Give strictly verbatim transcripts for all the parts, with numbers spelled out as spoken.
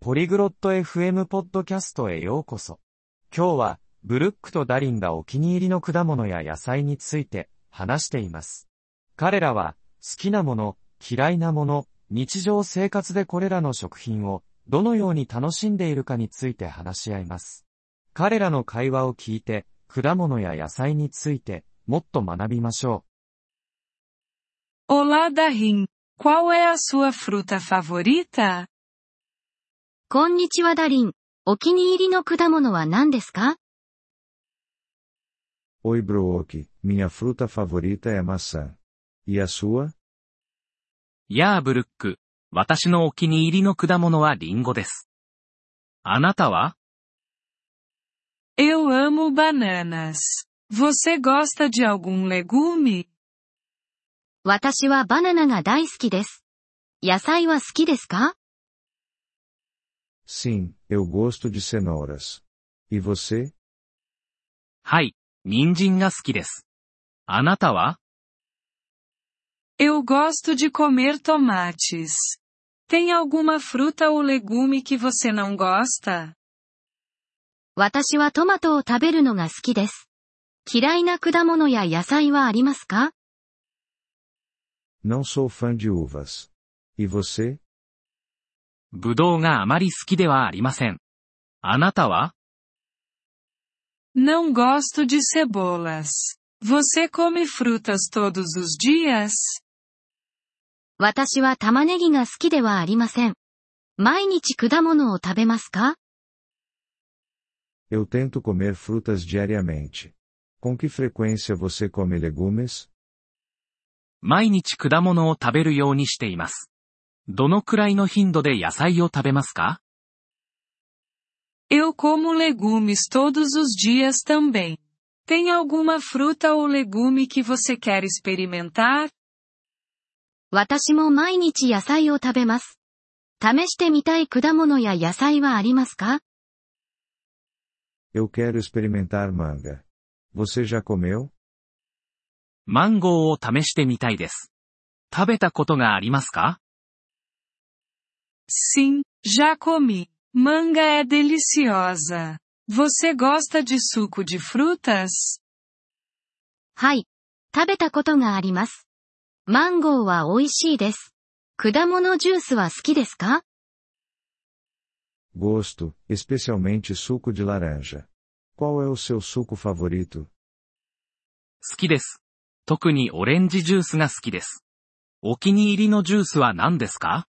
ポリグロット エフエム ポッドキャストへようこそ。今日は、ブルックとダリンがお気に入りの果物や野菜について話しています。彼らは、好きなもの、嫌いなもの、日常生活でこれらの食品をどのように楽しんでいるかについて話し合います。彼らの会話を聞いて、果物や野菜についてもっと学びましょう。Olá, Darin. Qual é a sua fruta favorita? こんにちはダリン。お気に入りの果物は何ですか？ Oi Brooke, minha fruta favorita é maçã. E a sua? やあブルック、私のお気に入りの果物はリンゴです。あなたは？ Eu amo bananas. Você gosta de algum legume? 私はバナナが大好きです。野菜は好きですか？ Sim, eu gosto de cenouras. E você? はい、人参が好きです。あなたは？ Eu gosto de comer tomates. Tem alguma fruta ou legume que você não gosta? 私はトマトを食べるのが好きです。嫌いな果物や野菜はありますか？ Não sou fã de uvas. E você? ぶどうがあまり好きではありません。あなたは？ Não gosto de cebolas. Você come frutas todos os dias? 私は玉ねぎが好きではありません。毎日果物を食べますか？ Eu tento comer frutas diariamente. Com que frequência você come legumes? 毎日果物を食べるようにしています。どのくらいの頻度で野菜を食べますか？ Eu como legumes todos os dias também. Tem alguma fruta ou legume que você quer experimentar? 私も毎日野菜を食べます。試してみたい果物や野菜はありますか？ Eu quero experimentar manga. Você já comeu? マンゴーを試してみたいです。食べたことがありますか？ Sim, já comi. Manga é deliciosa. Você gosta de suco de frutas? はい。食べたことがあります。マンゴーは美味しいです。果物ジュースは好きですか？ Gosto, especialmente suco de laranja. Qual é o seu suco favorito? 好きです。特にオレンジジュースが好きです。お気に入りのジュースは何ですか？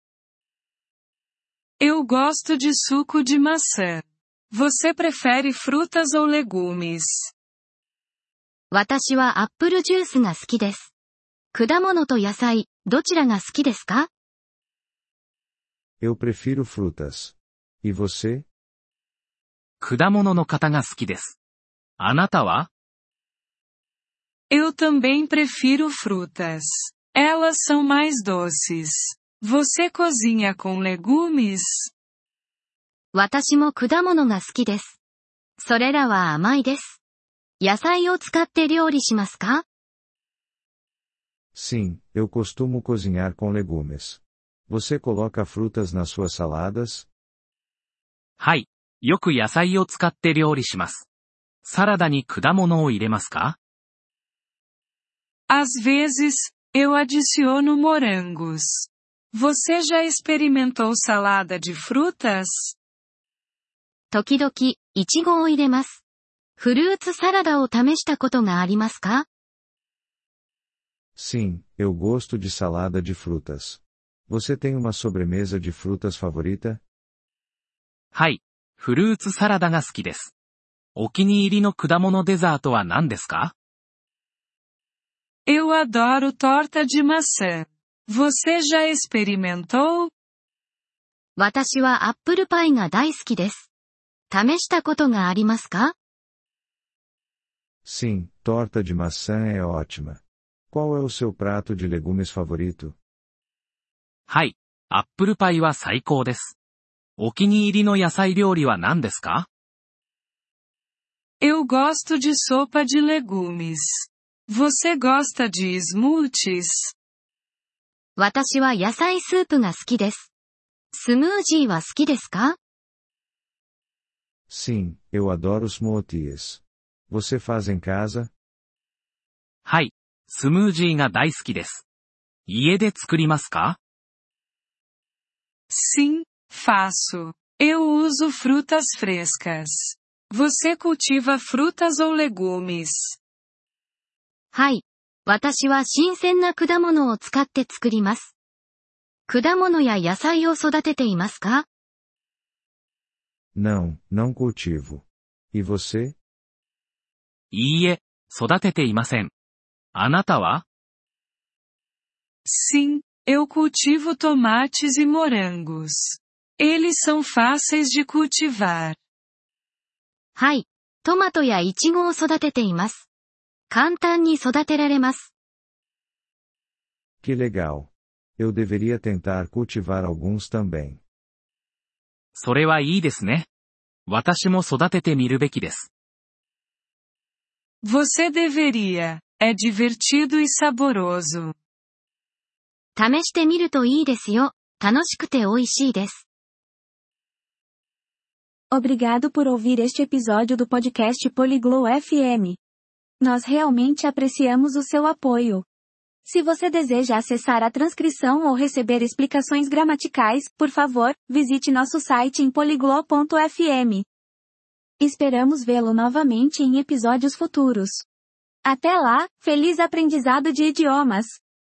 Eu gosto de suco de maçã. Você prefere frutas ou legumes? 私はアップルジュースが好きです。果物と野菜、どちらが好きですか？ Eu prefiro frutas. E você? 果物の方が好きです。あなたは？ Eu também prefiro frutas. Elas são mais doces. Você cozinha com legumes? 私も果物が好きです。それらは甘いです。野菜を使って料理しますか？ Sim, eu costumo cozinhar com legumes. Você coloca frutas nas suas saladas? はい。よく野菜を使って料理します。サラダに果物を入れますか？ Às vezes, eu adiciono morangos. Você já experimentou salada de frutas? 時々、イチゴを入れます。フルーツサラダを試したことがありますか？ Sim, eu gosto de salada de frutas. Você tem uma sobremesa de frutas favorita? はい。フルーツサラダが好きです。お気に入りの果物デザートは何ですか？ Eu adoro torta de maçã. Você já experimentou? 私はアップルパイが大好きです。試したことがありますか？ Sim, torta de maçã é ótima. Qual é o seu prato de legumes favorito? はい。アップルパイは最高です。お気に入りの野菜料理は何ですか？ Eu gosto de sopa de legumes. Você gosta de smoothies? 私は野菜スープが好きです。 スムージーは好きですか？ Sim, eu adoro smoothies. Você faz em casa? はい。スムージーが大好きです。家で作りますか？ Sim, faço. Eu uso frutas frescas. Você cultiva frutas ou legumes? はい。私は新鮮な果物を使って作ります。果物や野菜を育てていますか？ Não, não cultivo. E você? いいえ、育てていません。あなたは？ Sim, eu cultivo tomates e morangos. Eles são fáceis de cultivar. はい。トマトやイチゴを育てています。簡単に育てられます。 Que legal. Eu deveria tentar cultivar alguns também. それはいいですね。私も育ててみるべきです。 Você deveria. É divertido e saboroso. 試してみるといいですよ。楽しくて美味しいです。 Obrigado por ouvir este episódio do podcast Poliglo F M. Nós realmente apreciamos o seu apoio. Se você deseja acessar a transcrição ou receber explicações gramaticais, por favor, visite nosso site em poliglo ponto f m. Esperamos vê-lo novamente em episódios futuros. Até lá, feliz aprendizado de idiomas!